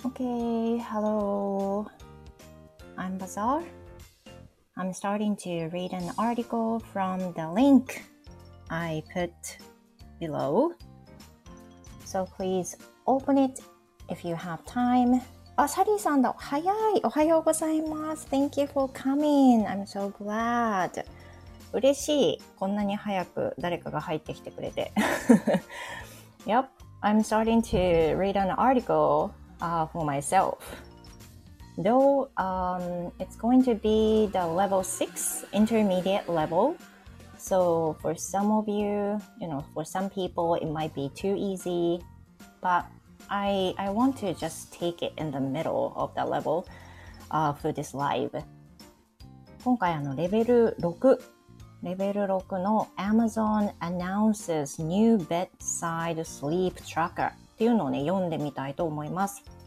Okay, hello. I'm Bazaar. I'm starting to read an article from the link I put below. So please open it if you have time. サリーさんだ。早い。おはようございます。Thank you for coming. I'm so glad. 嬉しい。こんなに早く誰かが入ってきてくれて。Yep, I'm starting to read an article、for myself. Though it's going to be the level 6 intermediate level. So for some of you, for some people it might be too easy. But I want to just take it in the middle of the level、for this live. 今回レベル6の Amazon announces new bedside sleep tracker っていうのをね、読んでみたいと思います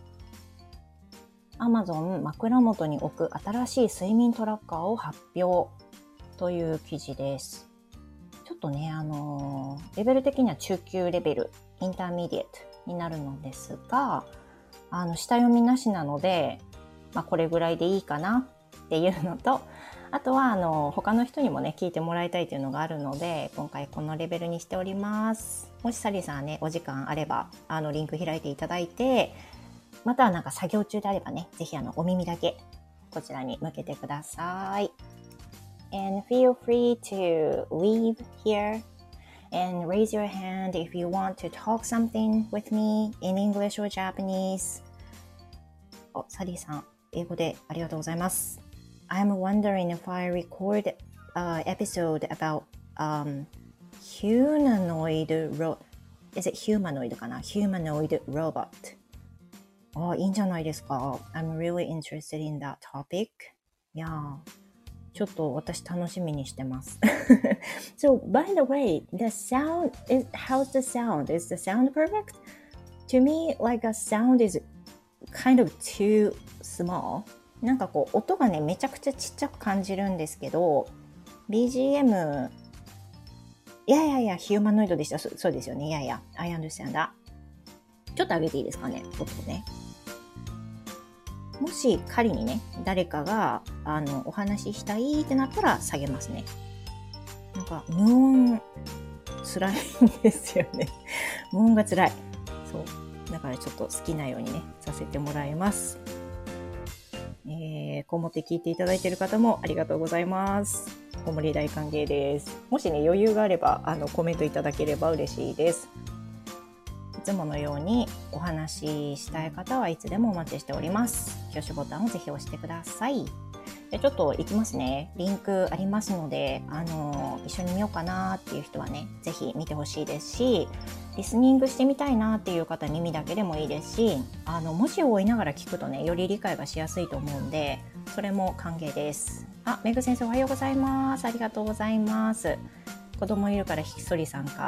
。Amazon 枕元に置く新しい睡眠トラッカーを発表という記事です。ちょっとね、レベル的には中級レベル、インターミディエットになるのですが、下読みなしなので、これぐらいでいいかなっていうのと、あとは他の人にもね聞いてもらいたいというのがあるので、今回このレベルにしております。もしサリーさんねお時間あればリンク開いていただいて、またはなんか作業中であればね、ぜひお耳だけこちらに向けてください。And feel free to leave here and raise your hand if you want to talk something with me in English or Japanese. サリーさん英語でありがとうございます。I'm wondering if I record an episode about humanoid is it humanoid かな humanoid robot いいんじゃないですか。 I'm really interested in that topic. Yeah, ちょっと私楽しみにしてます。So by the way, the sound is, how's the sound? Is the sound perfect? To me, like a sound is kind of too small.なんかこう音がねめちゃくちゃちっちゃく感じるんですけど BGM いやヒューマノイドでした。そうですよね。I understand that。 ちょっと上げていいですかね、音ね。もし仮にね誰かがお話ししたいってなったら下げますね。なんか無音辛いんですよね。無音が辛い。そうだからちょっと好きなようにねさせてもらいます。こもって聞いていただいている方もありがとうございます。ごもり大歓迎です。もしね余裕があればコメントいただければ嬉しいです。いつものようにお話ししたい方はいつでもお待ちしております。挙手ボタンをぜひ押してください。でちょっといきますね。リンクありますので一緒に見ようかなっていう人はねぜひ見てほしいですし、リスニングしてみたいなっていう方耳だけでもいいですし、文字を追いながら聞くとねより理解がしやすいと思うんでそれも歓迎です。メグ先生おはようございます。ありがとうございます。子供いるからひっそり参加。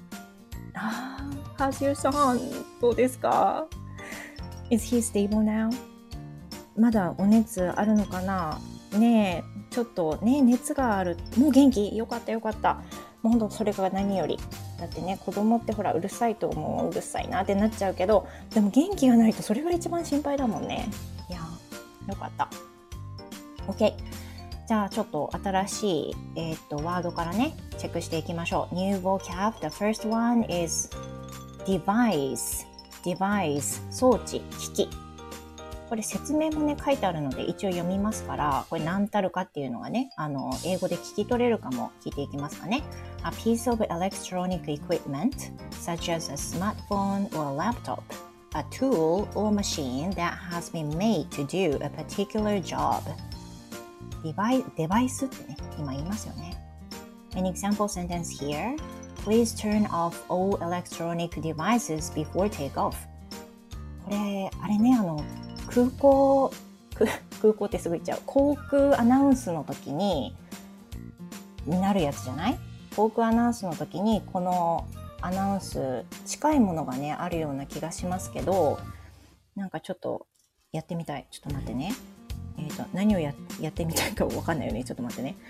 ハジュさんどうですか？ Is he stable now? まだお熱あるのかなねえ、ちょっとね熱がある。もう元気？よかったよかった。もうほんとそれが何より。だってね子供ってほらうるさいと思う、うるさいなってなっちゃうけど、でも元気がないとそれが一番心配だもんね。いやよかった。 OK、 じゃあちょっと新しい、ワードからねチェックしていきましょう。 New vocab. The first one is device. 装置、機器。これ説明もね書いてあるので一応読みますから、これ何たるかっていうのがね英語で聞き取れるかも聞いていきますかね。A piece of electronic equipment such as a smartphone or laptop, a tool or machine that has been made to do a particular job. デバイスってね今言いますよね。An example sentence here. Please turn off all electronic devices before takeoff. これあれね空港ってすぐ言っちゃう。航空アナウンスの時になるやつじゃない？航空アナウンスの時にこのアナウンス近いものがねあるような気がしますけど、なんかちょっとやってみたい。ちょっと待ってね。何をやってみたいかわかんないよね。ちょっと待ってね。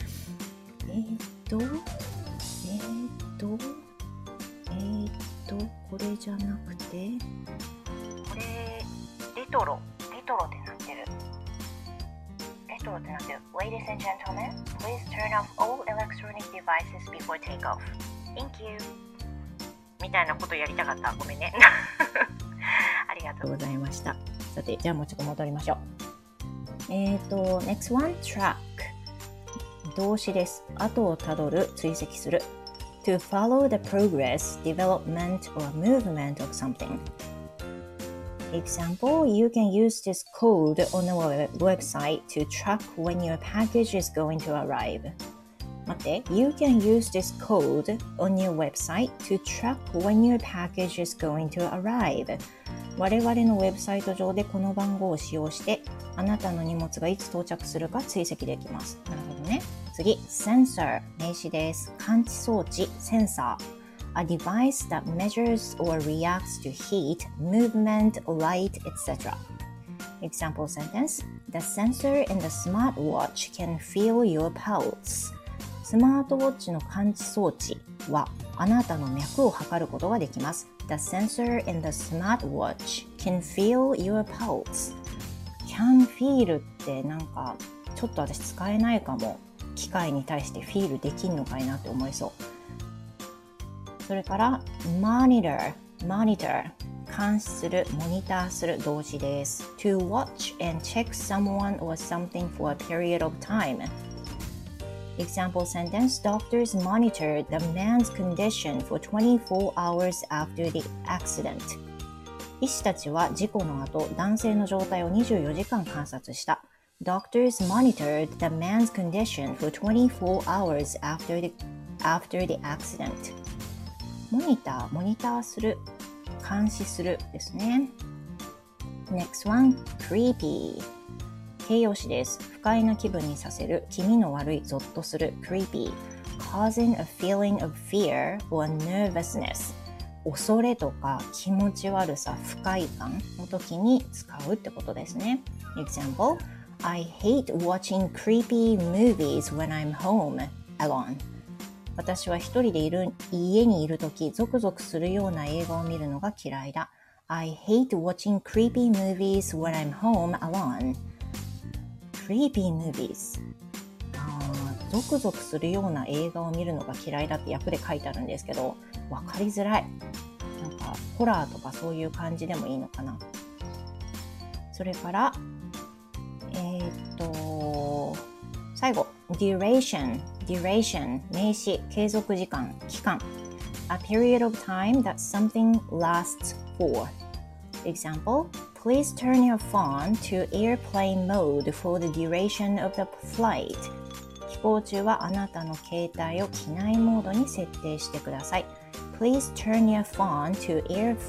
これじゃなくて、これレトロってなってる。Ladies and gentlemen, please turn off all electronic devices before takeoff. Thank you. みたいなことやりたかった。ごめんね。ありがとうございました。さて、じゃあもうちょっと戻りましょう。next one, track。動詞です。後をたどる、追跡する。To follow the progress, development, or movement of something.Example, you can use this code on a website to track when your package is going to arrive. 待って、You can use this code on your website to track when your package is going to arrive. 我々のウェブサイト上でこの番号を使用して、あなたの荷物がいつ到着するか追跡できます。なるほどね。次、Sensor、名詞です。感知装置、センサー。A device that measures or reacts to heat, movement, light, etc. Example sentence: The sensor in the smartwatch can feel your pulse. スマートウォッチの感知装置はあなたの脈を測ることができます。The sensor in the smartwatch can feel your pulse. Can feel ってなんかちょっと私使えないかも。機械に対してフィールできんのかいなって思いそう。それから monitor 監視する、モニターする動詞です。To watch and check someone or something for a period of time. Example sentence: Doctors monitored the man's condition for 24 hours after the accident. 医師たちは事故の後、男性の状態を24時間観察した。Doctors monitored the man's condition for 24 hours after the accident.モニターする、監視するですね。Next one, creepy。形容詞です。不快な気分にさせる、気味の悪い、ゾッとする、creepy。causing a feeling of fear or nervousness。恐れとか気持ち悪さ、不快感の時に使うってことですね。Example, I hate watching creepy movies when I'm home alone.私は一人で家にいるとき、ゾクゾクするような映画を見るのが嫌いだ。I hate watching creepy movies when I'm home alone. Creepy movies. ゾクゾクするような映画を見るのが嫌いだって訳で書いてあるんですけど、わかりづらい。なんか、ホラーとかそういう感じでもいいのかな。それから、最後、duration、名詞、継続時間、期間。A period of time that something lasts for. Example, please turn your phone to airplane mode for the duration of the flight. 飛行中はあなたの携帯を機内モードに設定してください。Please turn your phone to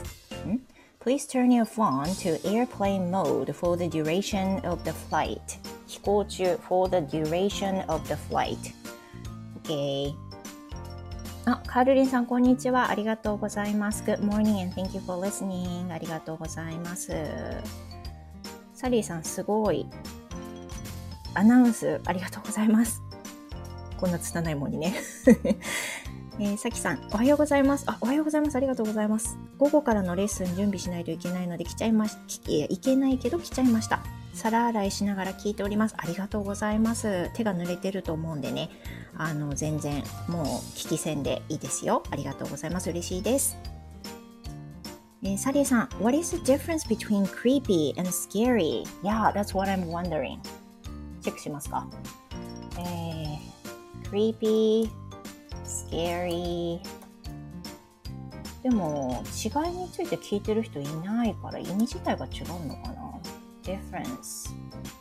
airplane mode for the duration of the flight. 飛行中 for the duration of the flight.Okay. カールリンさん、こんにちは。ありがとうございます。Good morning and thank you for listening. ありがとうございます。サリーさん、すごい。アナウンス、ありがとうございます。こんな拙いもんにね。さきさん、おはようございます。おはようございます。ありがとうございます。午後からのレッスン準備しないといけないのでいけないけど来ちゃいました。皿洗いしながら聞いております。ありがとうございます。手が濡れてると思うんでね、全然もう聞き戦でいいですよ。ありがとうございます。嬉しいです。サリーさん、What is the difference between creepy and scary? Yeah, that's what I'm wondering. チェックしますか？creepy, scary でも違いについて聞いてる人いないから意味自体が違うのかな。difference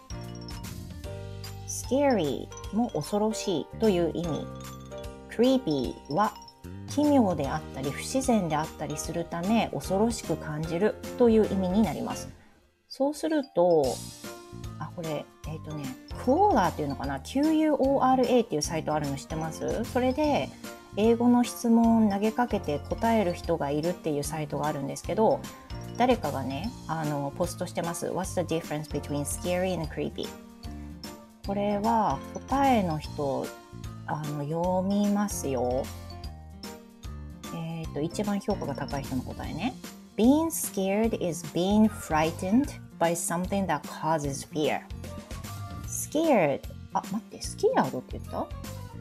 scary も恐ろしいという意味。creepy は奇妙であったり不自然であったりするため恐ろしく感じるという意味になります。そうするとこれQuora っていうのかな、 QUORA っていうサイトあるの知ってます？それで英語の質問を投げかけて答える人がいるっていうサイトがあるんですけど、誰かがねポストしてます。 What's the difference between scary and creepy? これは答えの人読みますよ。一番評価が高い人の答えね。Being scared is being frightened by something that causes fear. scared 待って、scared って言った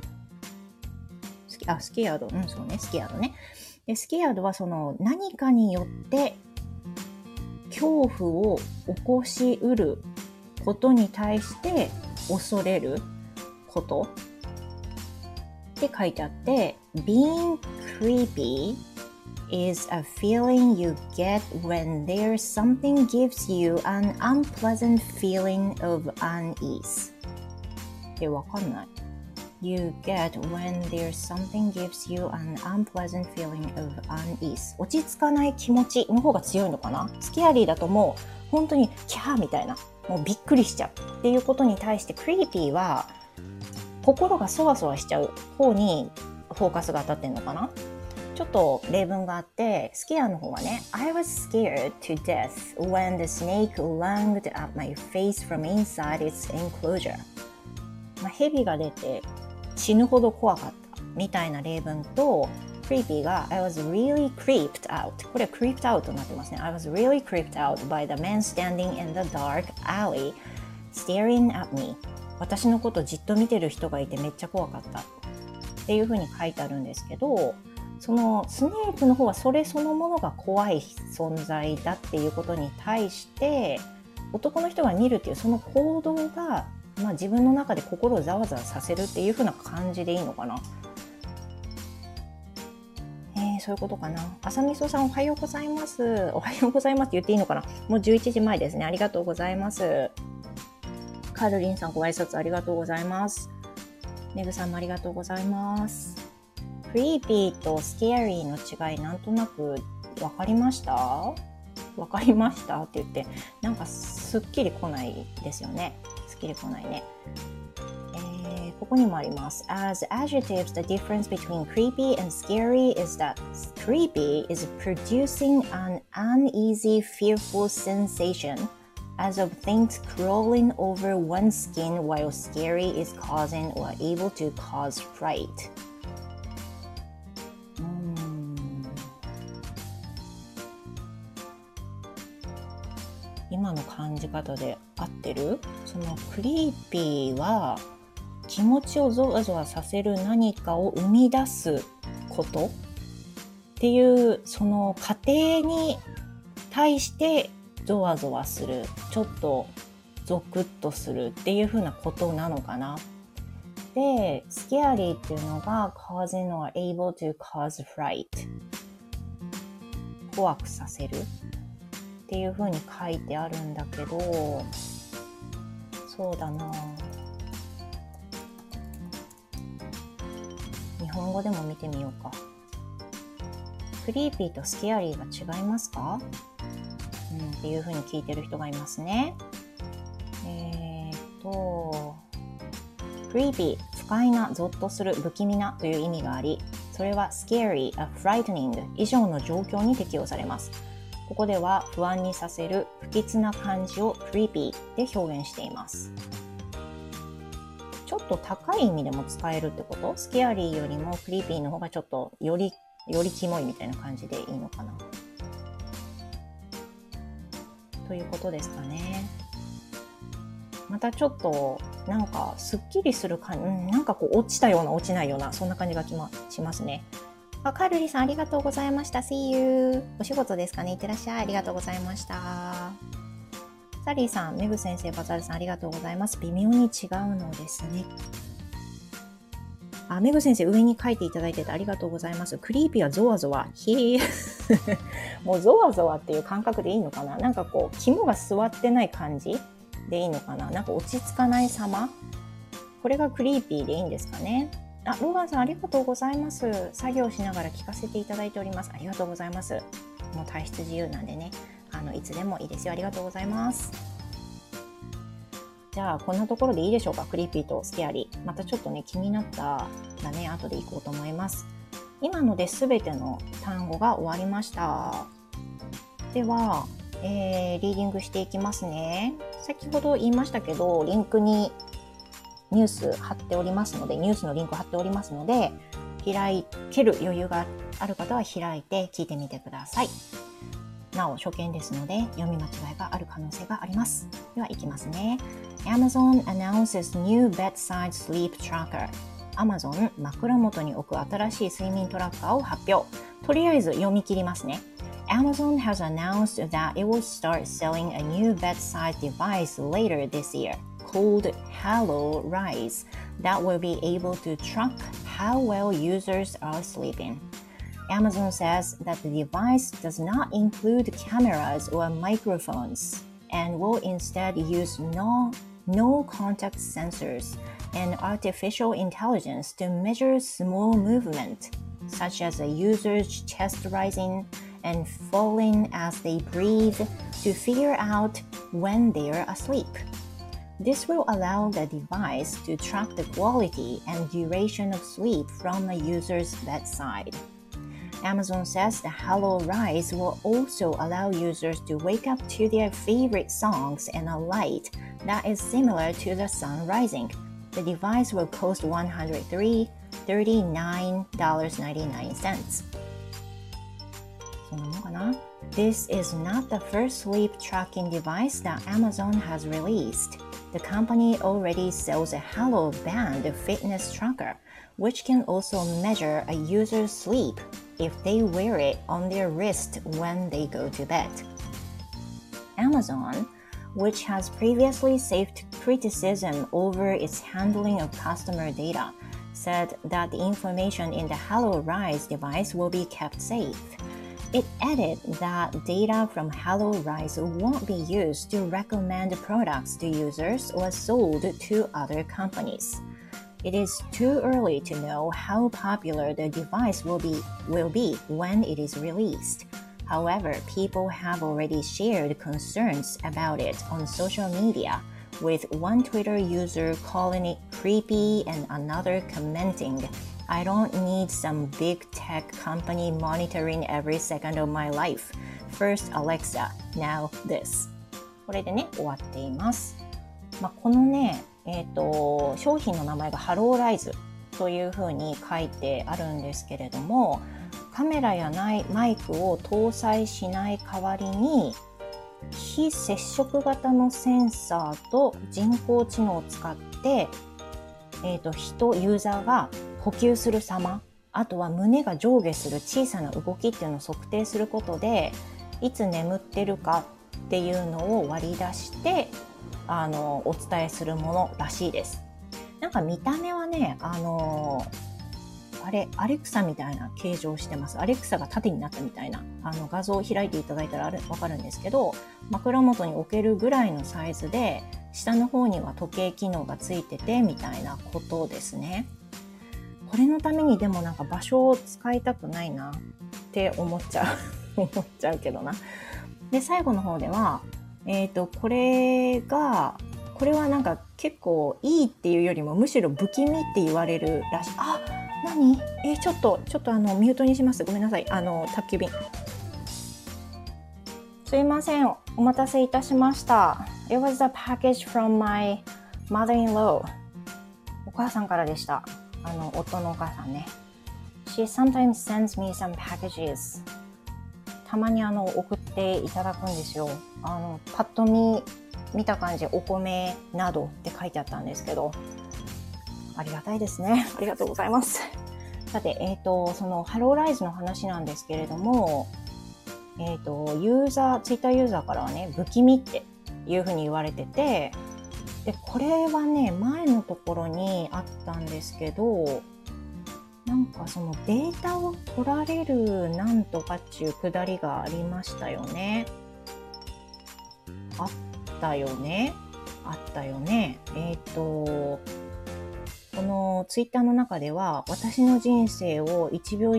scared そうね、scared ね。で、scared はその何かによって恐怖を起こしうることに対して恐れることって書いてあって、being creepy is a feeling you get when there's something gives you an unpleasant feeling of unease. で、わかんない。You get when there's something gives you an unpleasant feeling of unease. 落ち着かない気持ちの方が強いのかな？スケアリーだともう本当にキャーみたいな、もうびっくりしちゃうっていうことに対して、クリーピーは心がそわそわしちゃう方にフォーカスが当たってんのかな？ちょっと例文があって、スケアの方はね、I was scared to death when the snake lunged at my face from inside its enclosure. 蛇が出て死ぬほど怖かったみたいな例文と、クリーピーが I was really creeped out. これは creeped out になってますね。I was really creeped out by the man standing in the dark alley staring at me. 私のことじっと見てる人がいてめっちゃ怖かったっていう風に書いてあるんですけど、そのスネークの方はそれそのものが怖い存在だっていうことに対して、男の人が見るっていうその行動が、自分の中で心をざわざわさせるっていう風な感じでいいのかな。そういうことかな。朝みそさんおはようございます。おはようございますって言っていいのかな。もう11時前ですね。ありがとうございます。カルリンさんご挨拶ありがとうございます。メグさんもありがとうございます。クリーピーとスケアリーの違いなんとなく分かりました？分かりましたって言ってなんかすっきりこないですよね。すっきりこないね。ここにもあります。As adjectives, the difference between creepy and scary is that creepy is producing an uneasy, fearful sensation as of things crawling over one's skin, while scary is causing or able to cause fright. 今の感じ方で合ってる？そのクリーピーは気持ちをゾワゾワさせる何かを生み出すことっていうその過程に対してゾワゾワする、ちょっとゾクッとするっていう風なことなのかな。で、スケアリーっていうのが causing or able to cause fright 怖くさせるっていう風に書いてあるんだけど、そうだな、日本語でも見てみようか。クリーピーとスケアリーが違いますか？っていう風に聞いてる人がいますね。クリーピー、不快な、ゾッとする、不気味なという意味があり、それは scary, a frightening 以上の状況に適用されます。ここでは不安にさせる、不吉な感じを creepy で表現しています。ちょっと高い意味でも使えるってこと？スケアリーよりもクリーピーの方がちょっとよりキモいみたいな感じでいいのかなということですかね。またちょっとなんかすっきりする感じ、なんかこう落ちたような落ちないようなそんな感じがしますね。カルリさんありがとうございました。See you。お仕事ですかね。いってらっしゃい。ありがとうございました。サリーさん、メグ先生、バザールさんありがとうございます。微妙に違うのですね。メグ先生上に書いていただいててありがとうございます。クリーピーはゾワゾワ。もうゾワゾワっていう感覚でいいのかな？なんかこう肝が据わってない感じでいいのかな？なんか落ち着かない様。これがクリーピーでいいんですかね。ローガンさんありがとうございます。作業しながら聞かせていただいております。ありがとうございます。もう体質自由なんでね、いつでもいいですよ。ありがとうございます。じゃあこんなところでいいでしょうか。クリーピーとスケアリー。またちょっとね気になったらね後で行こうと思います。今ので全ての単語が終わりました。では、リーディングしていきますね。先ほど言いましたけどリンクにニュース貼っておりますので、ニュースのリンク貼っておりますので、開ける余裕がある方は開いて聞いてみてください。 なお初見ですので読み間違いがある可能性があります。ではいきますね。Amazon announces new bedside sleep tracker。Amazon 枕元に置く新しい睡眠トラッカーを発表。とりあえず読み切りますね。Amazon has announced that it will start selling a new bedside device later this year called Hello Rise that will be able to track how well users are sleeping. Amazon says that the device does not include cameras or microphones and will instead use no contact sensors and artificial intelligence to measure small movement, such as a user's chest rising and falling as they breathe to figure out when they're asleep. This will allow the device to track the quality and duration of sleep from a user's bedside. Amazon says the Hello Rise will also allow users to wake up to their favorite songs in a light that is similar to the sun rising. The device will cost $139.99. そんなもんかな。This is not the first sleep tracking device that Amazon has released. The company already sells a Hello Band fitness tracker, which can also measure a user's sleep if they wear it on their wrist when they go to bed. Amazon, which has previously faced criticism over its handling of customer data, said that the information in the Hello Rise device will be kept safe.It added that data from Hello Rise won't be used to recommend products to users or sold to other companies. It is too early to know how popular the device will be when it is released. However, people have already shared concerns about it on social media, with one Twitter user calling it creepy and another commenting,I don't need some big tech company monitoring every second of my life. First Alexa, now this. これでね、終わっています。このね、商品の名前がハローライズというふうに書いてあるんですけれども、カメラやマイクを搭載しない代わりに、非接触型のセンサーと人工知能を使って、ユーザーが呼吸する様、あとは胸が上下する小さな動きっていうのを測定することで、いつ眠ってるかっていうのを割り出してお伝えするものらしいです。なんか見た目はね、アレクサみたいな形状をしてます。アレクサが縦になったみたいな画像を開いていただいたらわかるんですけど、枕元に置けるぐらいのサイズで、下の方には時計機能がついててみたいなことですね。これのためにでもなんか場所を使いたくないなって思っちゃうけどな。で、最後の方では、これはなんか結構いいっていうよりもむしろ不気味って言われるらしい。あ、何？ちょっとミュートにします。ごめんなさい。宅急便。すいません。お待たせいたしました。It was a package from my mother-in-law. お母さんからでした。夫のお母さんね。She sometimes sends me some packages. たまに送っていただくんですよ。パッと見た感じ、お米などって書いてあったんですけど、ありがたいですね。ありがとうございます。さて、そのハローライズの話なんですけれども、ツイッターユーザーからはね、不気味っていうふうに言われてて、で、これはね、前のところにあったんですけど、なんかそのデータを取られるなんとかっていうくだりがありましたよね。あったよね。このツイッターの中では、私の人生を1秒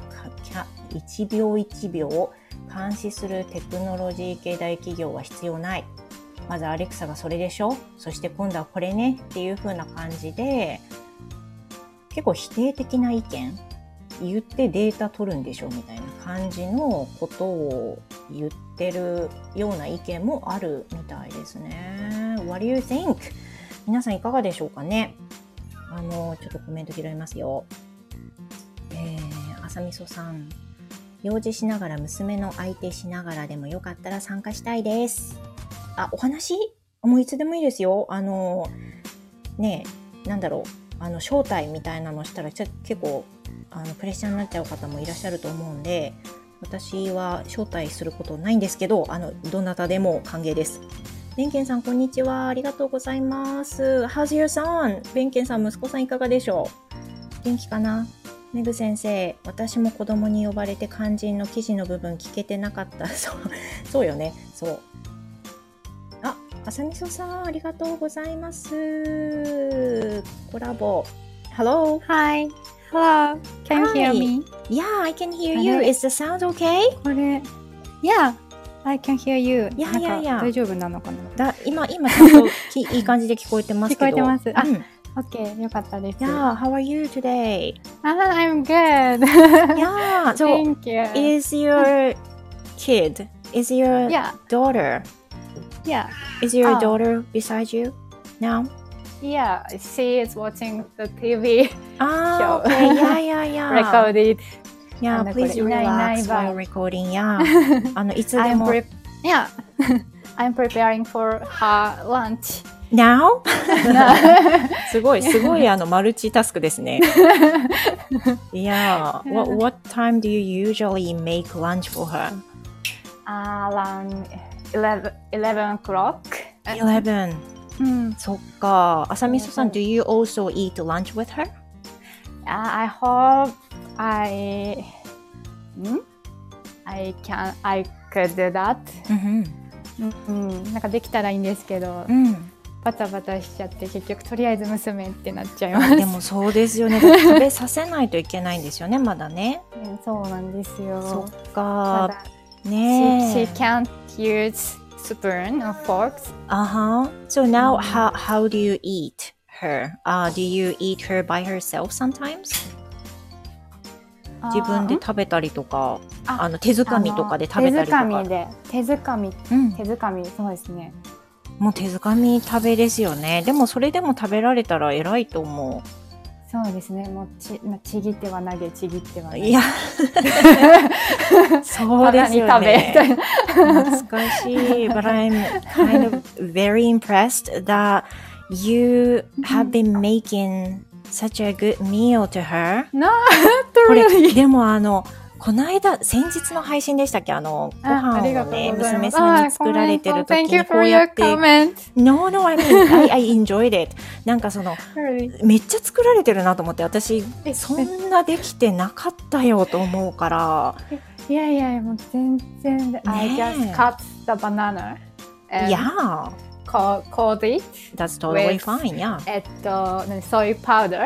1秒監視するテクノロジー系大企業は必要ない。まずアレクサがそれでしょ？そして今度はこれねっていう風な感じで、結構否定的な意見言ってデータ取るんでしょみたいな感じのことを言ってるような意見もあるみたいですね。What do you think? 皆さんいかがでしょうかね。ちょっとコメント拾いますよ。あさみそさん。 用事しながら娘の相手しながらでもよかったら参加したいです。あ、お話もういつでもいいですよ。ねえ、なんだろう、招待みたいなのしたら結構プレッシャーになっちゃう方もいらっしゃると思うんで、私は招待することないんですけど、どなたでも歓迎です。ベンケンさん、こんにちは。ありがとうございます。How's your son? ベンケンさん、息子さんいかがでしょう？元気かな？メグ先生、私も子供に呼ばれて肝心の記事の部分聞けてなかった。そうよね。そう。あ、あさみそさん、ありがとうございます。コラボ。Hello. Hi. Hello. Can you hear me? Yeah, I can hear you. Is the sound okay? これ、Yeah, I can hear you. いやいやいや。 大丈夫なのかな？ 今ちゃんといい感じで聞こえてますけど。 聞こえてます。Okay, よかったです。 Yeah, how are you today? I'm good. Yeah, so Thank you. Is your kid, is your daughter? Yeah. Is your daughter beside you now? Yeah, she is watching the TV show. Okay, yeah. Recorded. Yeah, please relax while recording. Yeah. いつでも。 Yeah. I'm preparing for her lunch. Now? すごいマルチタスクですね。Yeah. What time do you usually make lunch for her? Around 11 o'clock. 11. そっか。あさみそさん、do you also eat lunch with her? I hope I could do that. なんかできたらいいんですけど、バタバタしちゃって結局とりあえず娘ってなっちゃいます。 でもそうですよね。食べさせないといけないんですよね、まだね。 そうなんですよ。 そっか。ね。 She can't use spoon or forks. So now, how do you eat her? Do you eat her by herself sometimes? 自分で食べたりとか、手づかみとかで食べたりとか。 手づかみ、そうですね。 もう手づかみ食べですよね。でもそれでも食べられたら偉いと思う。 そうですね。もうちぎっては投げ、ちぎっては投げ。 いや、そうですよね。懐かしい。But I'm kind of very impressed that you have been making such a good meal to her. Not really. でもこの間、先日の配信でしたっけ？ご飯をね、娘さんに作られてる時にこうやって。No, I mean, I enjoyed it. なんかめっちゃ作られてるなと思って、私、そんなできてなかったよと思うから。 いやいや、もう全然。I just cut the banana. Yeah. Cold it. That's totally fine, yeah. soy powder.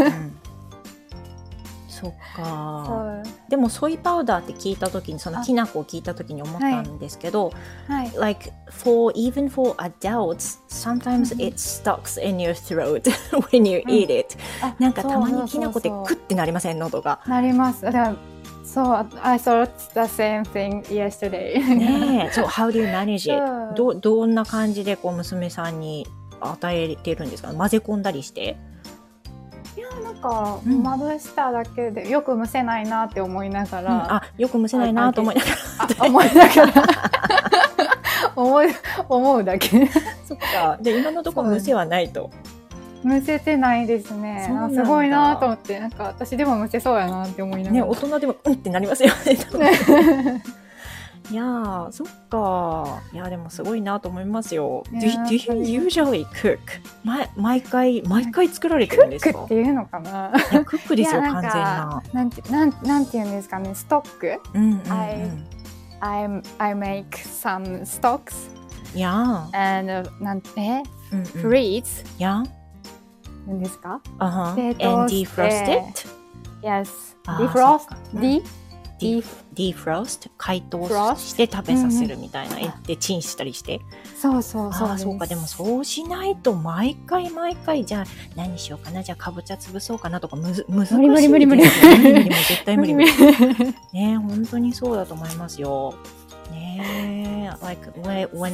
そっか。でもソイパウダーって聞いたときに、そのきな粉を聞いたときに思ったんですけど、like even for adults, sometimes it stucks in your throat when you eat it. なんかたまにきな粉ってクッてなりません？喉が。 なります。そう、I thought the same thing yesterday. ねえ、そう、how do you manage it? どんな感じで娘さんに与えてるんですか？混ぜ込んだりして。 いや、なんか、まぶしただけでよく蒸せないなって思いながら、 よく蒸せないなと思いながら思うだけ。 そっか。で、今のところ蒸せはないと。 蒸せてないですね。すごいなと思って、なんか私でも蒸せそうやなって思いながら。 ね、大人でもってなりますよね。いやー、そっか。いや、でもすごいなと思いますよ。Do you usually cook? 毎回作られてるんですか？ クックっていうのかな？ いや、クックですよ、完全な。 なんていうんですかね、ストック。I make some stocks. Yeah. And freeze. Yeah. 何ですか ？And defrost it? Yes. defrost 解凍して食べさせるみたいな。でチンしたりして。 そうそうか。でもそうしないと毎回じゃあ何しようかな、じゃあかぼちゃ潰そうかなとか難しいですよね。無理絶対無理。ね、本当にそうだと思いますよ。ね、like when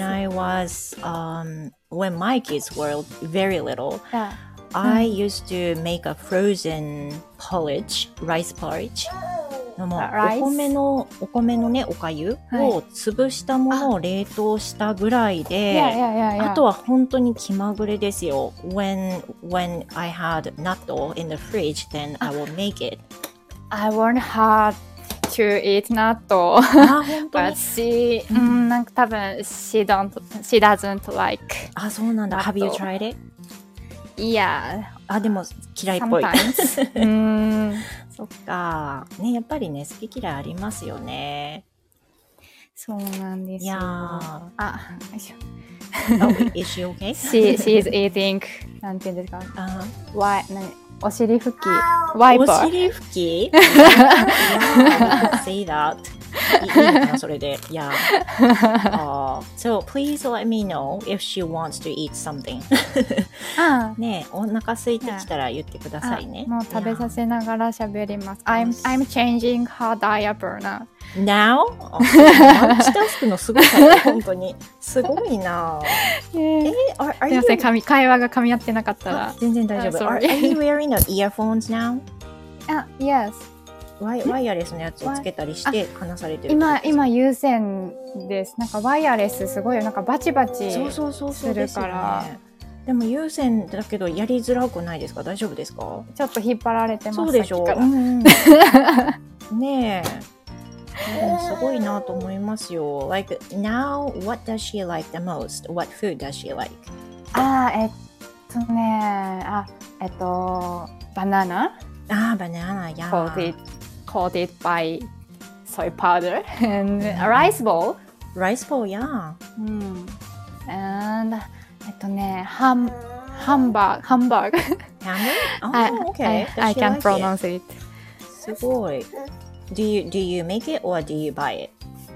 my kids were very little, I used to make a frozen rice porridge. もお米のねおかゆを潰したものを冷凍したぐらいで、あとは本当に気まぐれですよ。When I had natto in the fridge, then I will make it. I want her to eat natto. 本当に But she, なんか多分 she doesn't like. そうなんだ。Have you tried it? Yeah. でも嫌いっぽい。 Sometimes. そっか。ね、やっぱりね、好き嫌いありますよね。 そうなんですよ。よいしょ。 Is she okay? She is eating. なんていうんですか。お尻拭き。ワイパー。 お尻拭き？Yeah, say that. いいのかなそれで。Yeah. So please let me know if she wants to eat something. ね、お腹空いてきたら言ってくださいね。 もう食べさせながら喋ります。I'm changing her diaper now. Now? マルチタスクのすごさね、本当に。すごいな。 すいません、会話が噛み合ってなかったら。 全然大丈夫。Are you wearing the earphones now? Yes. ワイヤレスのやつをつけたりして話されてる。 今有線です。なんかワイヤレスすごいなんかバチバチするから。 でも有線だけどやりづらくないですか？大丈夫ですか？ ちょっと引っ張られてます。 そうでしょう。ねえ。すごいなと思いますよ。Like now, what does she like the most? What food does she like? バナナ。 バナナ、 yeah. Coated by soy powder and a rice bowl. Rice bowl, yeah. And hamburg. Hamburg? Okay. I can't pronounce it. すごい。Do you make it or do you buy it?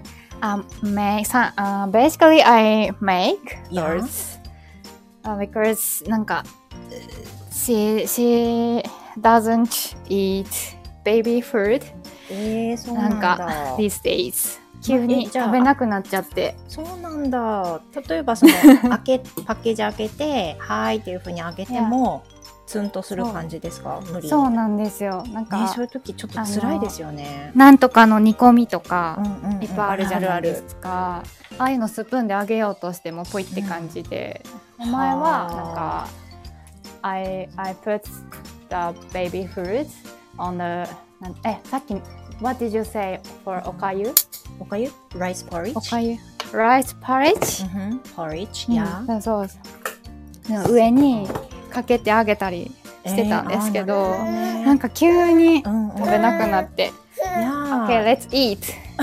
Basically, I make yours because なんか she doesn't eat baby food. そうなんだ。 なんか these days 急に食べなくなっちゃって。 そうなんだ。例えばそのパッケージ開けてはいっていう風に開けてもツンとする感じですか？無理。 そうなんですよ。なんか、 そういう時ちょっと辛いですよね。 なんとかの煮込みとかいっぱいあるじゃないですか。ああいうのスプーンで揚げようとしてもポイって感じで、前はなんか I put the baby food on the さっき What did you say for おかゆ？ おかゆ？ Rice porridge？ おかゆ Rice porridge？ Porridge? Yeah. そう。上にかけてあげたりしてたんですけど、なんか急に食べなくなって、Okay, let's eat.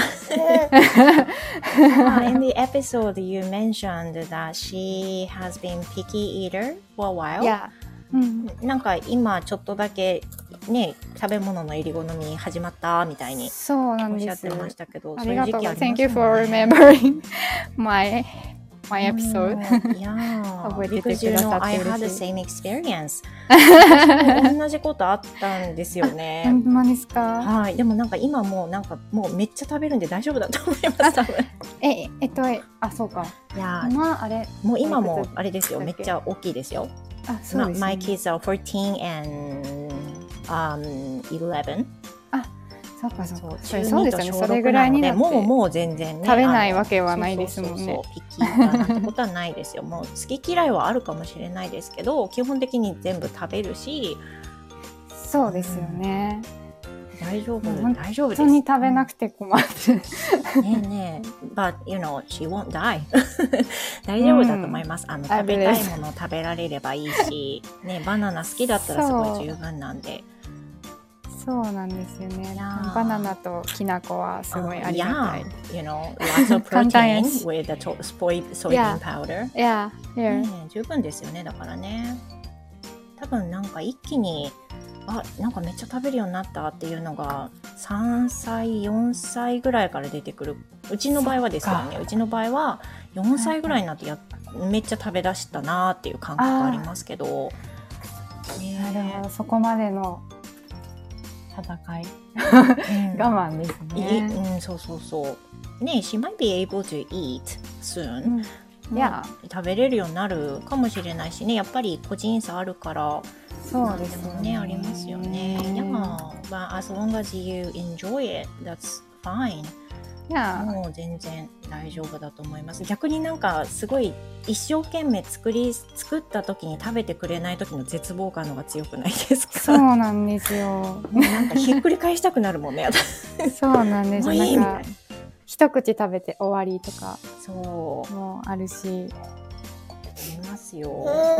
In the episode, you mentioned that she has been picky eater for a while. Yeah. なんか今ちょっとだけね食べ物の入り好み始まったみたいにおっしゃってましたけど、 ありがとう。Thank you for remembering my episode. Yeah, because you know I had the same experience. 同じことあったんですよね。 本当ですか？ はい。でもなんか今もうめっちゃ食べるんで大丈夫だと思います。 そうか。 いや、今もあれですよ。めっちゃ大きいですよ。 そうですね。 My kids are 14 and 11. そうか。そうですよね。それぐらいになってもう全然ね食べないわけはないですもんね。 ピッキーなんてことはないですよ。もう好き嫌いはあるかもしれないですけど、基本的に全部食べるし。 そうですよね。 大丈夫です。 本当に食べなくて困る。 ねえ。But you know, she won't die. 大丈夫だと思います。食べたいものを食べられればいいし、ね、バナナ好きだったらすごい十分なんで。 そうなんですよね。バナナときな粉はすごいありがたい。 You know, lots of protein with the soybean powder. Yeah. 十分ですよね。だからね。多分なんか一気になんかめっちゃ食べるようになったっていうのが3歳4歳ぐらいから出てくる。うちの場合はですよね。うちの場合は4歳ぐらいになってめっちゃ食べ出したなっていう感覚ありますけど。 なるほど。そこまでの戦い我慢ですね。 そうね。She might be able to eat soon. いや、 食べれるようになるかもしれないしね。やっぱり個人差あるからそうですよね。 ありますよね。but as long as you enjoy it, that's fine. もう全然大丈夫だと思います。逆になんかすごい一生懸命作った時に食べてくれない時の絶望感のが強くないですか？ そうなんですよ。 もうなんかひっくり返したくなるもんね。 そうなんですよ。なんか一口食べて終わりとかもあるし。 ありますよ。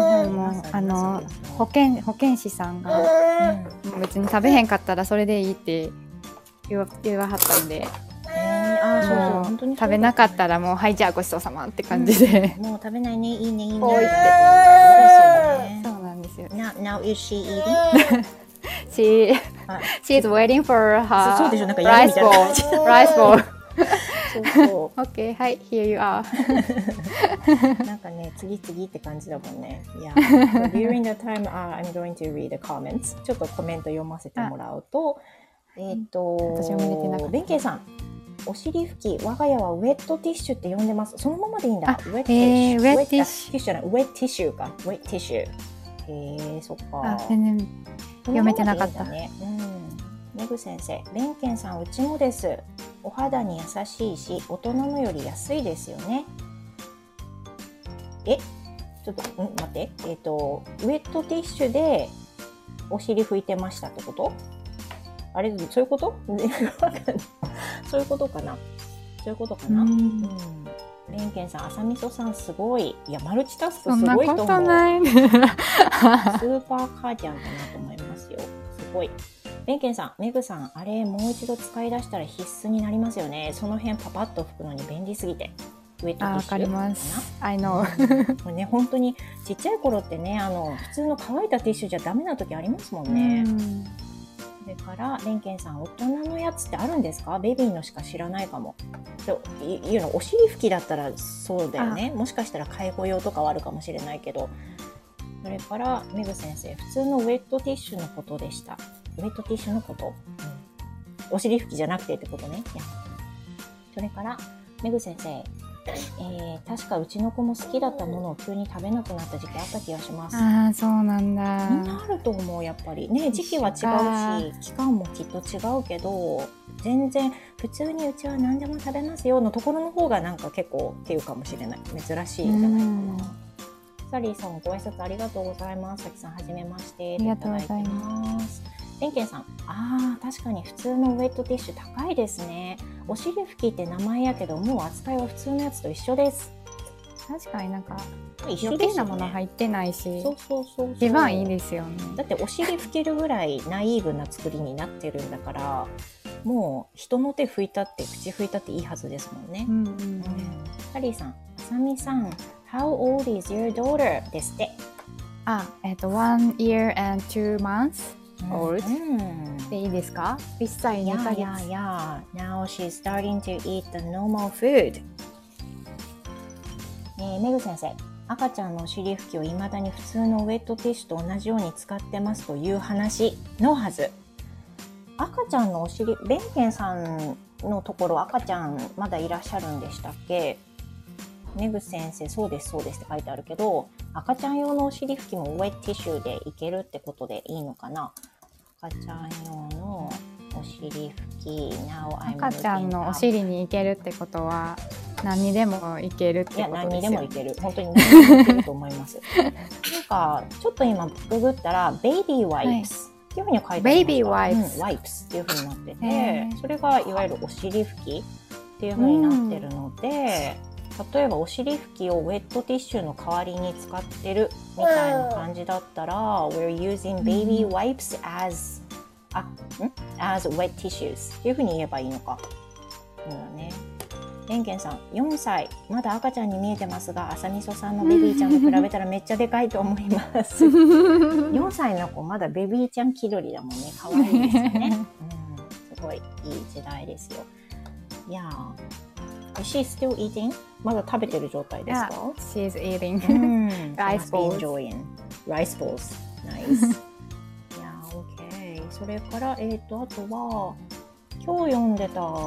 保健師さんが、別に食べへんかったらそれでいいって言わはったんで。本当に食べなかったらもうはいじゃあごちそうさまって感じで、 もう食べないねいいねいいねってそうなんですよ。 Now is she eating? She is waiting for her そうでしょ、なんかやるみたいな感じ。 rice bowl そう OK はい here you are なんかね次々って感じだもんね。During the time I'm going to read the comments ちょっとコメント読ませてもらうと私も見てなかった。 弁慶さん、お尻拭き、我が家はウェットティッシュって呼んでます。そのままでいいんだ。 ウェットティッシュじゃない、ウェットティッシュか。ウェットティッシュ。そっか。 全然読めてなかった。 メグ先生、弁慶さん、うちもです。お肌に優しいし、大人のより安いですよね。ちょっと、待って。ウェットティッシュでお尻拭いてましたってこと？あれ、そういうこと？そういうことかな。弁慶さん、朝味噌さんすごい。いや、マルチタスクすごいと思う。 そんなことない。 スーパーカーディアンだなと思いますよ。すごい。弁慶さん、メグさん、あれもう一度使い出したら必須になりますよね。その辺パパッと拭くのに便利すぎて。ウェットティッシュ。 わかります。I know。 これね、本当にちっちゃい頃ってね、普通の乾いたティッシュじゃダメな時ありますもんね。それからレンケンさん、大人のやつってあるんですか？ベビーのしか知らないかも。いうのお尻拭きだったらそうだよね。もしかしたら介護用とかはあるかもしれないけど。それからメグ先生、普通のウェットティッシュのことでした。ウェットティッシュのこと、お尻拭きじゃなくてってことね。それからメグ先生、確かうちの子も好きだったものを急に食べなくなった時期あった気がします。 そうなんだ。 みんなあると思う。やっぱりね、時期は違うし期間もきっと違うけど、全然普通にうちは何でも食べますよのところの方がなんか結構っていうかもしれない。珍しいんじゃないかな。サリーさん、ご挨拶ありがとうございます。さきさん、はじめまして。 ありがとうございます。 レンケンさん、確かに普通のウェットティッシュ高いですね。お尻拭きって名前やけど、もう扱いは普通のやつと一緒です。 確かになんか一緒ですね。余計なもの入ってないし、 そう一番いいですよね。 だってお尻拭けるぐらいナイーブな作りになってるんだから、もう人の手拭いたって口拭いたっていいはずですもんね。サリーさん、あさみさん、How old is your daughter? ですって。 1 year and 2 months old、でいいですか？1歳2ヶ月。 Now she's starting to eat the normal food。メグ先生、赤ちゃんのお尻拭きを未だに普通のウェットティッシュと同じように使ってますという話のはず。赤ちゃんのお尻、ベンケンさんのところ赤ちゃんまだいらっしゃるんでしたっけ？メグ先生、そうですって書いてあるけど、赤ちゃん用のお尻拭きもウェットティッシュでいけるってことでいいのかな？赤ちゃん用のお尻拭き、 赤ちゃんのお尻にいけるってことは何にでもいけるってことですよ。いや、 何にでもいける。本当に何にでもいけると思います。なんかちょっと今ググったらベイビーワイプスっていうふうに書いてあります。 ベイビーワイプス、 ワイプスっていうふうになってて、それがいわゆるお尻拭きっていうふうになってるので、例えばお尻拭きをウェットティッシュの代わりに使ってるみたいな感じだったら、We're using baby wipes as wet tissues っていうふうに言えばいいのか。そうだね。レンケンさん、4歳、まだ赤ちゃんに見えてますが、朝みそさんのベビーちゃんと比べたらめっちゃでかいと思います。4歳の子、まだベビーちゃん気取りだもんね。可愛いですよね。すごいいい時代ですよ。いやー。Is she still eating? まだ食べてる状態ですか？ She's eating rice balls. Rice balls. Nice. Yeah, okay. それから、あとは今日読んでた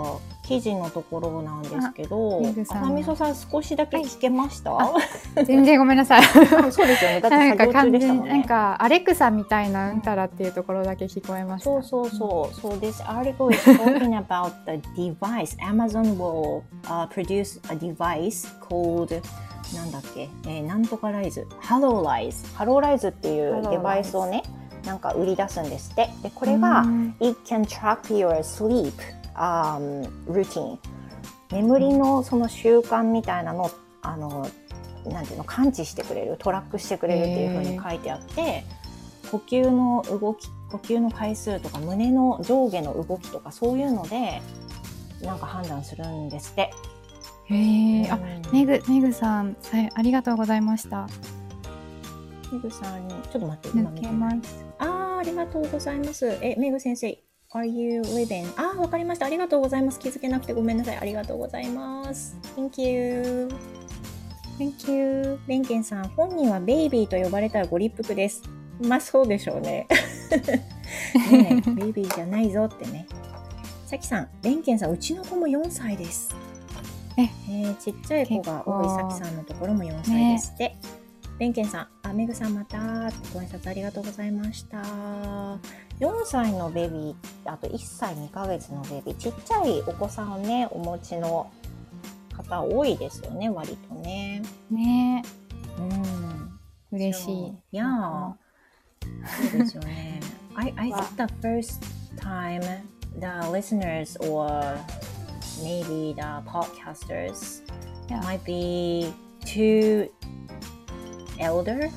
記事のところなんですけど、 めぐさんの浅みそさん少しだけ聞けました？ 全然ごめんなさい。 そうですよね。だって作業中でしたもんね。 なんかアレクサみたいなうんたらっていうところだけ聞こえました。 そう。So this article is talking about the device. Amazon will produce a device called なんだっけ、なんとかライズ、ハローライズっていうデバイスをね、なんか売り出すんですって。でこれがIt can track your sleep routine。眠りのその習慣みたいなのなんていうの、感知してくれる、トラックしてくれるっていう風に書いてあって、呼吸の動き、呼吸の回数とか胸の上下の動きとかそういうのでなんか判断するんですって。 メグさん、ありがとうございました。 メグさんにちょっと待って、今見てます。ありがとうございます。メグ先生、Are you living? わかりました。ありがとうございます。気づけなくてごめんなさい。ありがとうございます。Thank you。ベンケンさん、本人はベイビーと呼ばれたらご立腹です。まあそうでしょうね。ねえ、ベイビーじゃないぞってね。さきさん、ベンケンさん、うちの子も4歳です。ちっちゃい子が多いさきさんのところも4歳ですって。ベンケンさん、メグさんまたご挨拶ありがとうございました。4歳のベビー、あと1歳2ヶ月のベビー、ちっちゃいお子さんをね、お持ちの方多いですよね、割とね。 ね。嬉しい。 いや、そうですよね。I think the first time the listeners or maybe the podcasters might be too elderly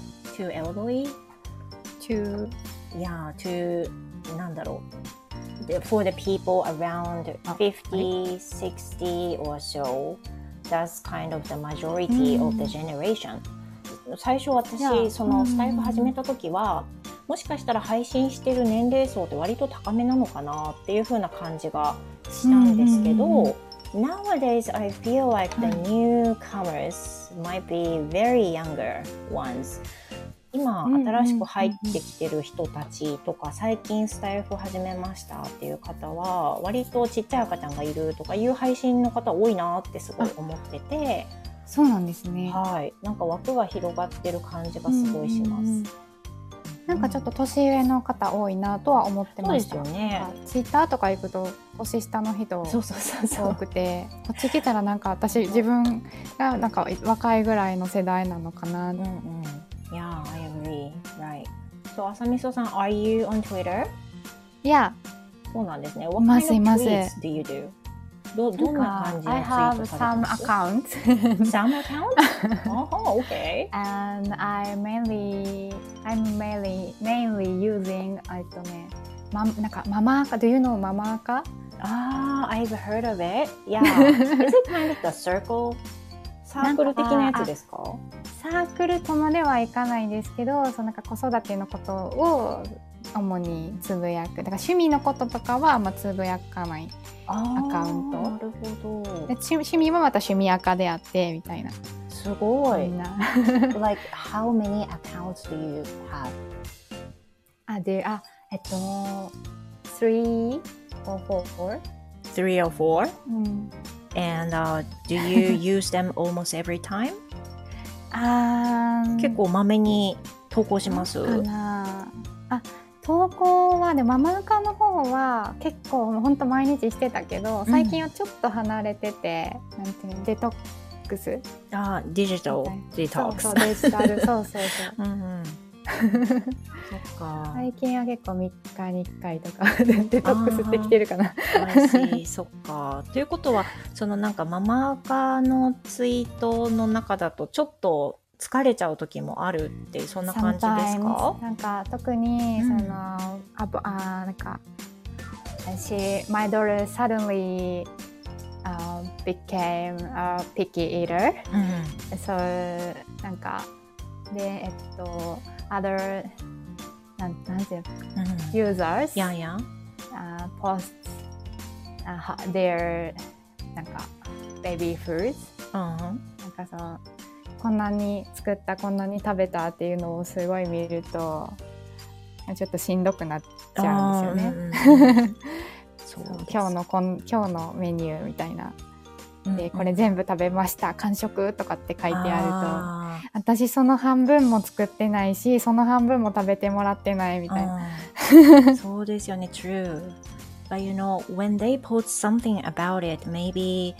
to なんだろう for the people around 50, 60 or so, that's kind of the majority of the generation. 最初私そのスタイフ始めた時はもしかしたら配信してる年齢層って割と高めなのかなっていう風な感じがしたんですけど、Nowadays I feel like the newcomers might be very younger ones. 今新しく入ってきてる人たちとか、最近スタイフ始めましたっていう方は割とちっちゃい赤ちゃんがいるとかいう配信の方多いなってすごい思ってて。 そうなんですね。 はい、なんか枠が広がってる感じがすごいします。 なんかちょっと年上の方多いなとは思ってました。 そうですよね。 ツイッターとか行くと年下の人多くて、こっち来たらなんか自分がなんか若いぐらいの世代なのかな。 Yeah, I agree. Right. So 浅みそさん、Are you on Twitter? Yeah. そうなんですね。What kind of tweets do you do? どんな感じのツイートされてます？ I have some accounts. Some accounts? Oh, okay. And I'm mainly using なんかママアカ。Do you know ママアカ ？I've heard of it. Yeah. Is it kind of the circle? サークル的なやつですか？ サークルとまではいかないんですけど、なんか子育てのことを主につぶやく。だから趣味のこととかはつぶやかないアカウント。 なるほど。 で趣味はまた趣味アカであってみたいな。 すごい。Like how many accounts do you have? 3 or 4. 3 or 4? And do you use them almost every time? 結構まめに投稿します？ 投稿はママアカの方は結構本当毎日してたけど、最近はちょっと離れてて、なんていうの、デトックス。 デジタルデトックス。 そうデジタル、そう。そっか。最近は結構3日に1回とかデトックスってきてるかな。 そっか。ということはそのなんかママアカのツイートの中だとちょっと疲れちゃう時もあるってそんな感じですか？ なんか特になんかmy daughter suddenly became a picky eater. So なんかでother なんていうusers post their なんか baby foods. なんかこんなに作った、こんなに食べたっていうのをすごい見るとちょっとしんどくなっちゃうんですよね。 そう今日のメニューみたいなで、これ全部食べました完食とかって書いてあると、私その半分も作ってないしその半分も食べてもらってないみたいな。 そうですよね。 True. But you know, when they post something about it, maybe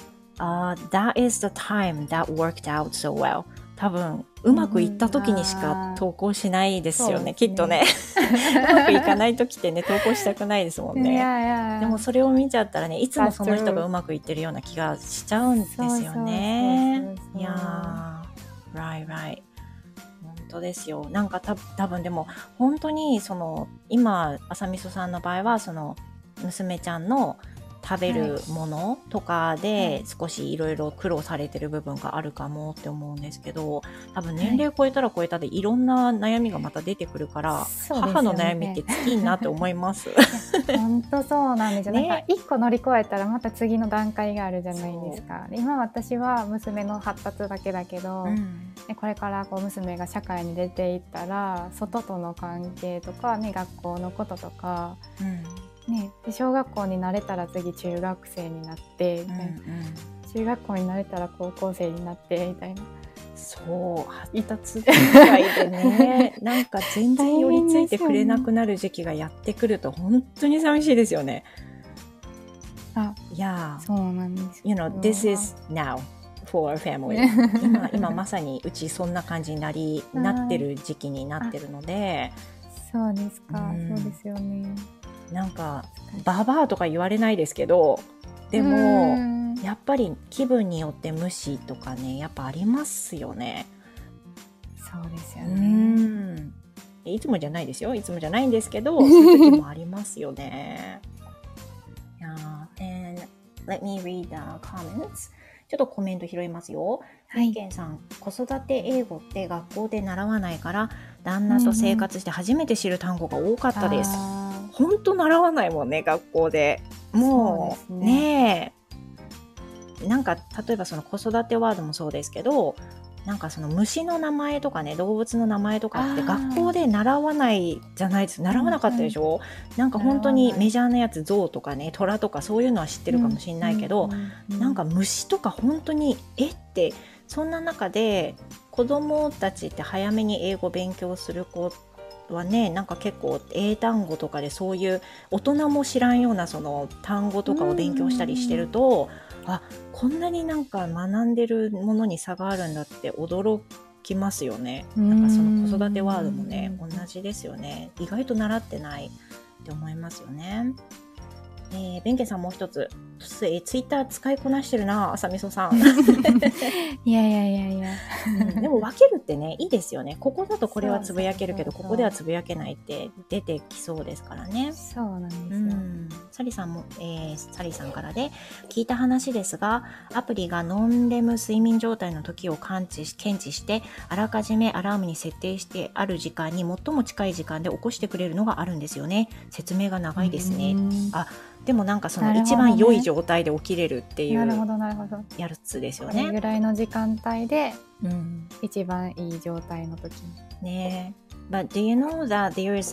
that is the time that worked out so well. 多分うまくいった時にしか投稿しないですよね、きっとね。うまくいかない時ってね投稿したくないですもんね。でもそれを見ちゃったらね、いつもその人がうまくいってるような気がしちゃうんですよね。いやー、right。本当ですよ。なんか多分でも本当にその今朝みそさんの場合はその娘ちゃんの食べるものとかで少しいろいろ苦労されてる部分があるかもって思うんですけど、多分年齢超えたら超えたでいろんな悩みがまた出てくるから、母の悩みって尽きんなって思います。 本当そうなんですよ、ね、なんか一個乗り越えたらまた次の段階があるじゃないですか。今私は娘の発達だけだけど、これからこう娘が社会に出ていったら外との関係とか、ね、学校のこととか、ね、で小学校になれたら次中学生になってみたいな、中学校になれたら高校生になってみたいな。 そう発達段階でねなんか全然寄りついてくれなくなる時期がやってくると本当に寂しいですよね。いやそうなんです。 You know, this is now for our family 今まさにうちそんな感じになってる時期になってるので。 そうですか、そうですよね。 なんかババアとか言われないですけど、でもやっぱり気分によって無視とかねやっぱありますよね。 そうですよね。 いつもじゃないですよ、いつもじゃないんですけどそういう時もありますよね。And let me read the comments. ちょっとコメント拾いますよ。ケンさん、子育て英語って学校で習わないから旦那と生活して初めて知る単語が多かったです。本当習わないもんね学校で。もうねえ、なんか例えばその子育てワードもそうですけど、なんかその虫の名前とかね動物の名前とかって学校で習わないじゃないです。習わなかったでしょ。なんか本当にメジャーなやつ象とかね虎とかそういうのは知ってるかもしれないけど、なんか虫とか本当にってそんな中で子供たちって早めに英語勉強する子はね、なんか結構英単語とかでそういう大人も知らんようなその単語とかを勉強したりしてると、こんなになんか学んでるものに差があるんだって驚きますよね。なんかその子育てワードもね同じですよね。意外と習ってないって思いますよね。ベンケさんもう一つツイッター使いこなしてるな、朝みそさん。 いや、 でも分けるってねいいですよね。ここだとこれはつぶやけるけどここではつぶやけないって出てきそうですからね。 そうなんですよ。 サリさんも、サリさんからで聞いた話ですが、アプリがノンレム睡眠状態の時を検知してあらかじめアラームに設定してある時間に最も近い時間で起こしてくれるのがあるんですよね。説明が長いですね。でもなんかその一番良い状態で起きれるっていうやつですよね。 これぐらいの時間帯で、一番いい状態の時にね。But do you know that there is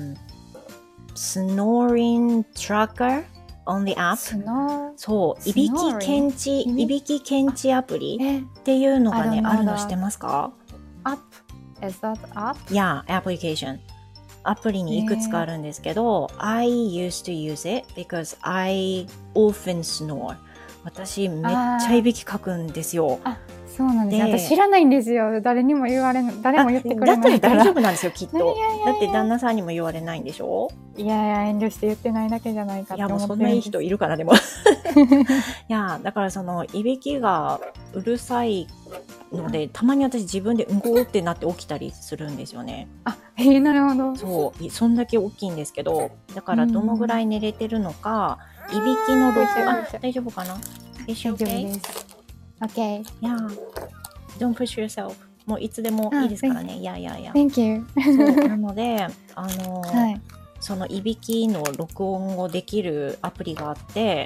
snoring tracker on the app? そう、いびき検知アプリっていうのがねあるの知ってますか？ App? Is that app? Yeah, application。アプリにいくつかあるんですけど、I used to use it because I often snore。私めっちゃいびきかくんですよ。 そうなんです。私知らないんですよ。誰も言ってくれないから。 だったら大丈夫なんですよきっと。だって旦那さんにも言われないんでしょ。 いや遠慮して言ってないだけじゃないかって思ってるんです。 もうそんないい人いるからでも。いやだからそのいびきがうるさいのでたまに私自分でうんこってなって起きたりするんですよね。 なるほど。 そうそんだけ大きいんですけど、だからどのぐらい寝れてるのか、いびきの録音大丈夫かな？ 大丈夫です。Okay. Yeah. Don't push yourself. もういつでもいいですからね。 Thank you. そうなのでそのいびきの録音をできるアプリがあって、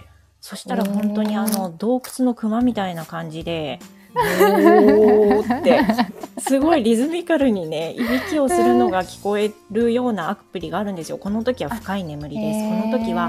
そしたら本当に洞窟の熊みたいな感じでおーってすごいリズミカルにねいびきをするのが聞こえるようなアプリがあるんですよ。この時は深い眠りです。この時は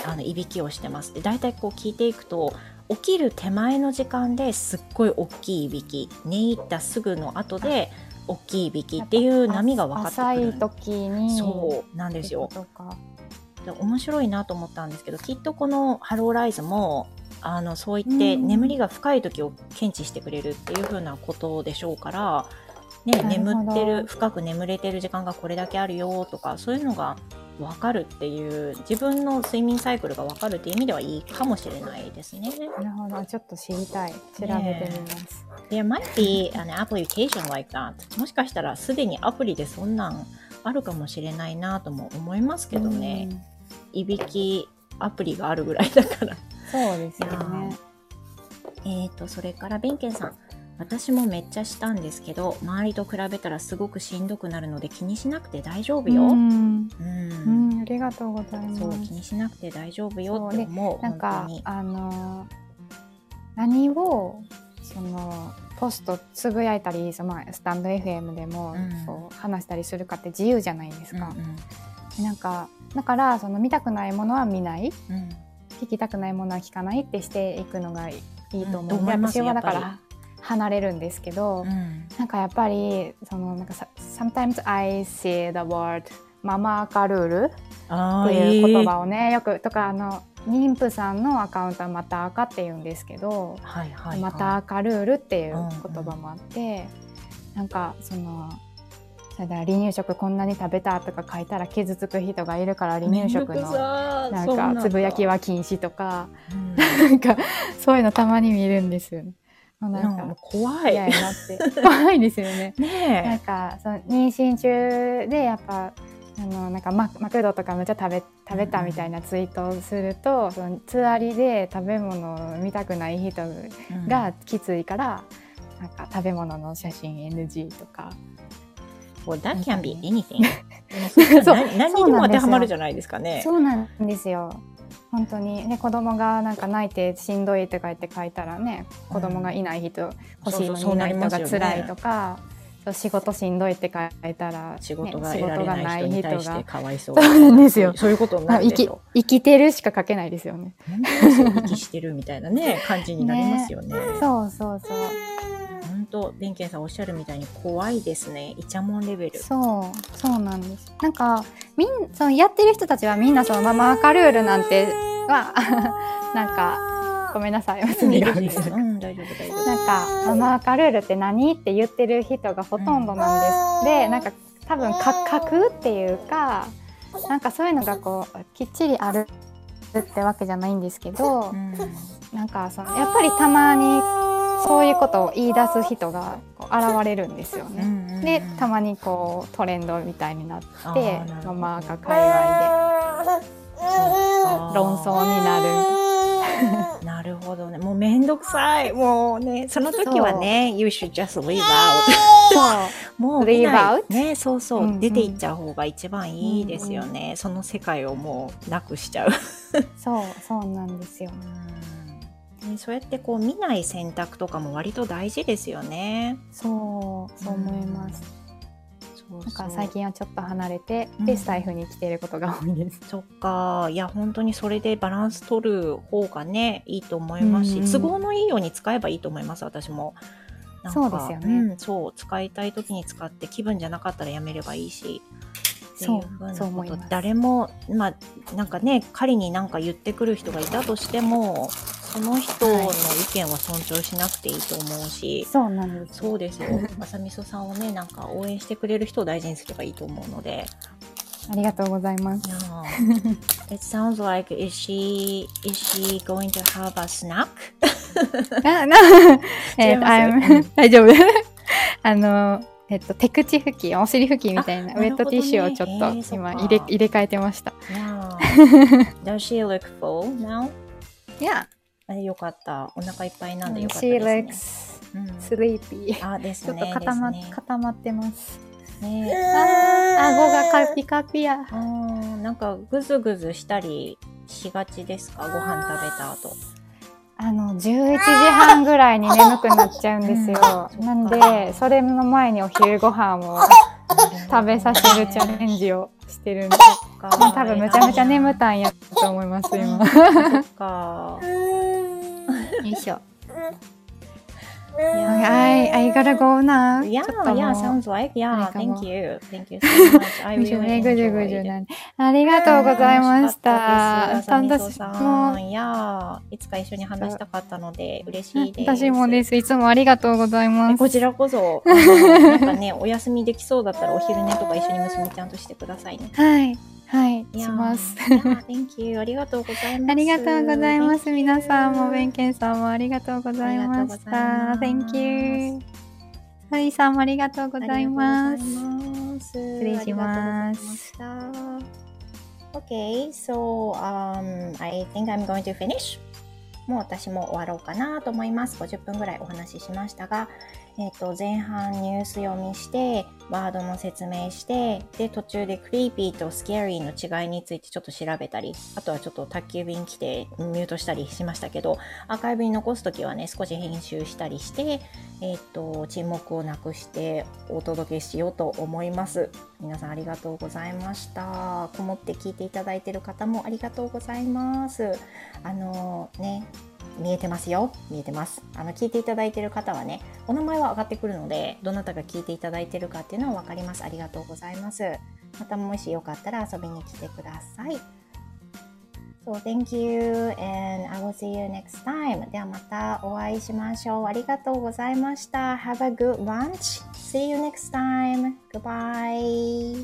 いびきをしてます。でだいたいこう聞いていくと起きる手前の時間ですっごい大きいいびき、寝入ったすぐの後で大きいいびきっていう波が分かってくる。 浅い時にそうなんですよ。面白いなと思ったんですけど、きっとこのハローライズもそう言って眠りが深い時を検知してくれるっていう風なことでしょうから、ね、眠ってる、深く眠れてる時間がこれだけあるよとか、そういうのが分かるっていう、自分の睡眠サイクルが分かるっていう意味ではいいかもしれないですね。 なるほど、ちょっと知りたい。調べてみます。 There might be an application like that. もしかしたらすでにアプリでそんなんあるかもしれないなとも思いますけどね。いびきアプリがあるぐらいだから。 そうですよね。 それからベンケンさん、私もめっちゃしたんですけど、周りと比べたらすごくしんどくなるので気にしなくて大丈夫よ。 ありがとうございます。 そう、気にしなくて大丈夫よって思う。 なんか何をポストつぶやいたり、スタンド FM でもそう話したりするかって自由じゃないですか。なんかだから見たくないものは見ない、聞きたくないものは聞かないってしていくのがいいと思う。私はだから離れるんですけど、なんかやっぱりなんかsometimes I say the word ママアカルールっていう言葉をね、よくとか妊婦さんのアカウントはまた赤って言うんですけど、また赤ルールっていう言葉もあって、なんか離乳食こんなに食べたとか書いたら傷つく人がいるから離乳食のなんかつぶやきは禁止とか、なんかそういうのたまに見るんですよね。なんか怖い。 嫌やなって怖いですよね。 なんか妊娠中でやっぱなんかマクドとかめっちゃ食べたみたいなツイートをすると、つわりで食べ物を見たくない人がきついから、なんか食べ物の写真 NG とか。 Well, that can be anything. 何にでも当てはまるじゃないですかね。 そうなんですよ。本当にね、子供がなんか泣いてしんどいとか言って書いたらね、子供がいない人、欲しいのにいない人が辛いとか、仕事しんどいって書いたら、 仕事が得られない人に対してかわいそう。 そうなんですよ。 そういうことになるでしょ。 生きてるしか書けないですよね。 生きしてるみたいなね感じになりますよね。 そうそうそう。 本当、ベンケンさんおっしゃるみたいに怖いですね。イチャモンレベル。 そうなんです。なんかやってる人たちはみんなママアカルールなんてはなんかごめんなさい、大丈夫大丈夫。なんかママアカルールって何って言ってる人がほとんどなんです。で、なんか多分書くっていうか、なんかそういうのがこうきっちりあるってわけじゃないんですけど、なんかやっぱりたまにそういうことを言い出す人が現れるんですよね。で、たまにこうトレンドみたいになってママが界隈で論争になる。 なるほどね。もうめんどくさい。もうね、その時はね、You should just leave out。もうleave out？ね、そう、出ていっちゃう方が一番いいですよね。その世界をもうなくしちゃう。 そうなんですよ。 そうやってこう見ない選択とかも割と大事ですよね。 そう思います。なんか最近はちょっと離れて、でスタイフに来ていることが多いです。 そっか。いや本当にそれでバランス取る方がねいいと思いますし、都合のいいように使えばいいと思います。私もなんかそうですよね。 そう使いたい時に使って気分じゃなかったらやめればいいし。そう思います。誰もなんかね、仮に何か言ってくる人がいたとしてもその人の意見は尊重しなくていいと思うし、 そうなんです。 そうですよ。まさみそさんをね、なんか応援してくれる人を大事にすればいいと思うので。 ありがとうございます。 It sounds like is she going to have a snack? 大丈夫。手口拭き、お尻拭きみたいなウェットティッシュをちょっと今入れ替えてました。 Does she look full now? Yeah. よかった。お腹いっぱいなんでよかったですね。 She looks sleepy. ですね。 ちょっと固まってます。顎がカピカピや。 なんかグズグズしたりしがちですか？ご飯食べた後。 11時半ぐらいに眠くなっちゃうんですよ。なんでそれの前にお昼ご飯を食べさせるチャレンジをしてるんで。 か。 多分むちゃむちゃ眠たんやと思います今。 そっか。 よいしょ。I gotta go now. Yeah, ちょっともう yeah, sounds like, yeah, なんかもう thank you. Thank you so much. I ぐじゅ really ぐじゅぐじゅ enjoyed. なんでありがとうございまし楽しかったです。 た。 あさみそ私さもん、いや、いつか一緒に話したかったので嬉しいです。 私もです。いつもありがとうございます。 こちらこそ、なんかね、お休みできそうだったらお昼寝とか一緒に娘ちゃんとしてくださいね。 はいはいします。 Thank you. ありがとうございます。 ありがとうございます。皆さんもベンケンさんもありがとうございました。Thank you。サリーさんもありがとうございます。失礼します。 Okay, so I think I'm going to finish. もう私も終わろうかなと思います。50分ぐらいお話ししましたが、前半ニュース読みして、ワードの説明して、で、途中でクリーピーとスキャリーの違いについてちょっと調べたり、あとはちょっと宅急便来てミュートしたりしましたけど、アーカイブに残すときはね、少し編集したりして、沈黙をなくしてお届けしようと思います。皆さんありがとうございました。こもって聞いていただいている方もありがとうございます。見えてますよ。見えてます。聞いていただいている方はね、お名前は上がってくるので、どなたが聞いていただいているかっていうのは分かります。ありがとうございます。またもしよかったら遊びに来てください。So thank you and I will see you next time. ではまたお会いしましょう。ありがとうございました。Have a good lunch. See you next time. Goodbye.